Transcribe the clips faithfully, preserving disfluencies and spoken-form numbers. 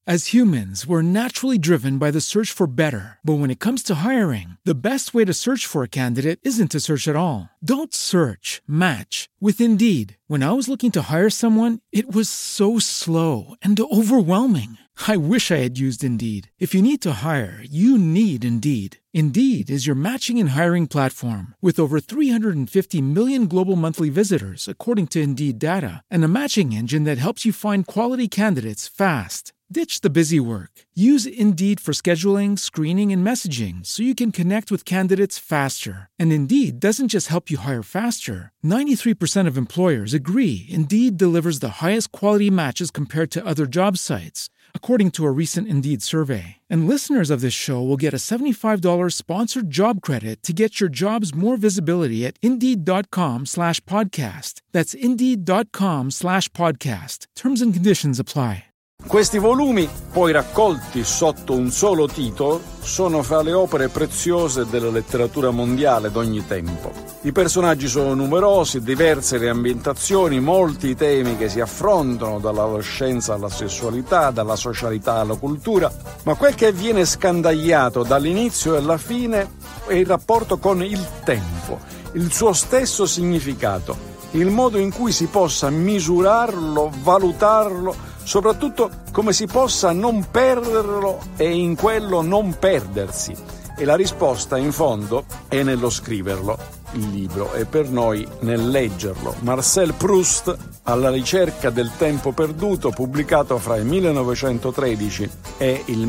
As humans, we're naturally driven by the search for better. But when it comes to hiring, the best way to search for a candidate isn't to search at all. Don't search, match with Indeed. When I was looking to hire someone, it was so slow and overwhelming. I wish I had used Indeed. If you need to hire, you need Indeed. Indeed is your matching and hiring platform with over three hundred fifty million global monthly visitors, according to Indeed data, and a matching engine that helps you find quality candidates fast. Ditch the busy work. Use Indeed for scheduling, screening, and messaging so you can connect with candidates faster. And Indeed doesn't just help you hire faster. ninety-three percent of employers agree Indeed delivers the highest quality matches compared to other job sites, according to a recent Indeed survey. And listeners of this show will get a seventy-five dollars sponsored job credit to get your jobs more visibility at Indeed.com slash podcast. That's Indeed.com slash podcast. Terms and conditions apply. Questi volumi, poi raccolti sotto un solo titolo, sono fra le opere preziose della letteratura mondiale d'ogni tempo. I personaggi sono numerosi, diverse le ambientazioni, molti i temi che si affrontano, dall'adolescenza alla sessualità, dalla socialità alla cultura, ma quel che viene scandagliato dall'inizio e alla fine è il rapporto con il tempo, il suo stesso significato, il modo in cui si possa misurarlo, valutarlo, soprattutto come si possa non perderlo e in quello non perdersi. E la risposta, in fondo, è nello scriverlo, il libro, e per noi nel leggerlo. Marcel Proust, Alla ricerca del tempo perduto, pubblicato fra il millenovecentotredici e il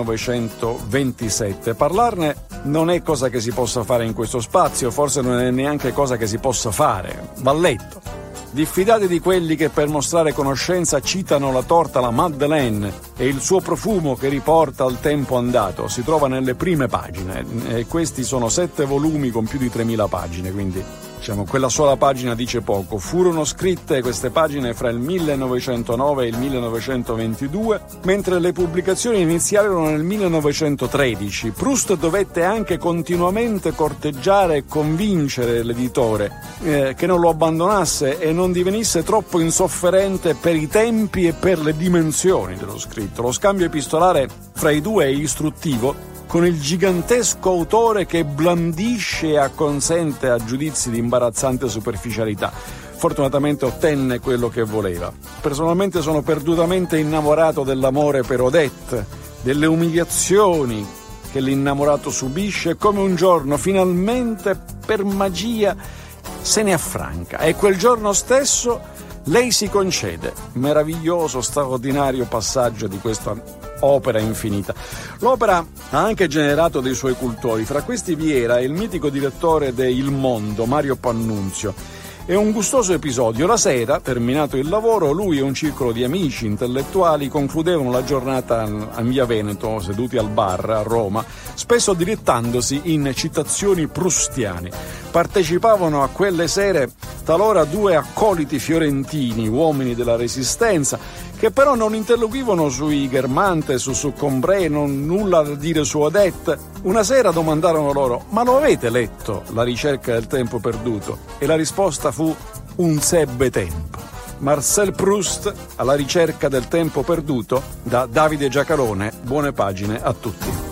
millenovecentoventisette. Parlarne non è cosa che si possa fare in questo spazio, forse non è neanche cosa che si possa fare, va letto. Diffidate di quelli che per mostrare conoscenza citano la torta la Madeleine e il suo profumo che riporta al tempo andato. Si trova nelle prime pagine e questi sono sette volumi con più di tremila pagine, quindi diciamo quella sola pagina dice poco. Furono scritte queste pagine fra il millenovecentonove e il millenovecentoventidue, mentre le pubblicazioni iniziarono nel millenovecentotredici. Proust dovette anche continuamente corteggiare e convincere l'editore eh, che non lo abbandonasse e non divenisse troppo insofferente per i tempi e per le dimensioni dello scritto. Lo scambio epistolare fra i due è istruttivo, con il gigantesco autore che blandisce e acconsente a giudizi di imbarazzante superficialità. Fortunatamente ottenne quello che voleva. Personalmente sono perdutamente innamorato dell'amore per Odette, delle umiliazioni che l'innamorato subisce e come un giorno, finalmente, per magia, se ne affranca. E quel giorno stesso lei si concede. Meraviglioso, straordinario passaggio di questa opera infinita. L'opera ha anche generato dei suoi cultori. Fra questi vi era il mitico direttore de Il Mondo, Mario Pannunzio. È un gustoso episodio. La sera, terminato il lavoro, lui e un circolo di amici intellettuali concludevano la giornata a Via Veneto, seduti al bar a Roma, spesso dilettandosi in citazioni prustiane. Partecipavano a quelle sere talora due accoliti fiorentini, uomini della Resistenza, che però non interloquivano sui Guermantes, su Succombré, non nulla da dire su Odette. Una sera domandarono loro: ma lo avete letto, La ricerca del tempo perduto? E la risposta fu: un sebbe tempo. Marcel Proust, Alla ricerca del tempo perduto, da Davide Giacalone. Buone pagine a tutti.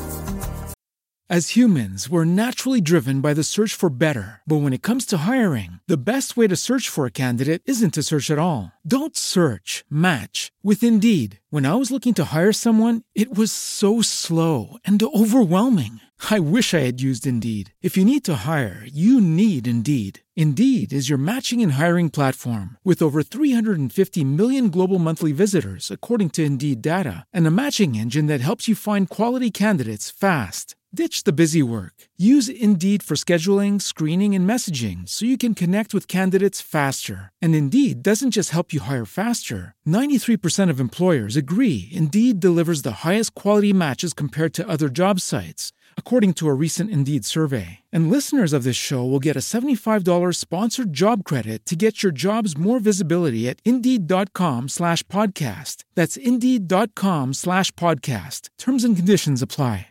As humans, we're naturally driven by the search for better. But when it comes to hiring, the best way to search for a candidate isn't to search at all. Don't search, match with Indeed. When I was looking to hire someone, it was so slow and overwhelming. I wish I had used Indeed. If you need to hire, you need Indeed. Indeed is your matching and hiring platform with over three hundred fifty million global monthly visitors, according to Indeed data, and a matching engine that helps you find quality candidates fast. Ditch the busy work. Use Indeed for scheduling, screening, and messaging so you can connect with candidates faster. And Indeed doesn't just help you hire faster. ninety-three percent of employers agree Indeed delivers the highest quality matches compared to other job sites, according to a recent Indeed survey. And listeners of this show will get a seventy-five dollars sponsored job credit to get your jobs more visibility at Indeed.com slash podcast. That's Indeed.com slash podcast. Terms and conditions apply.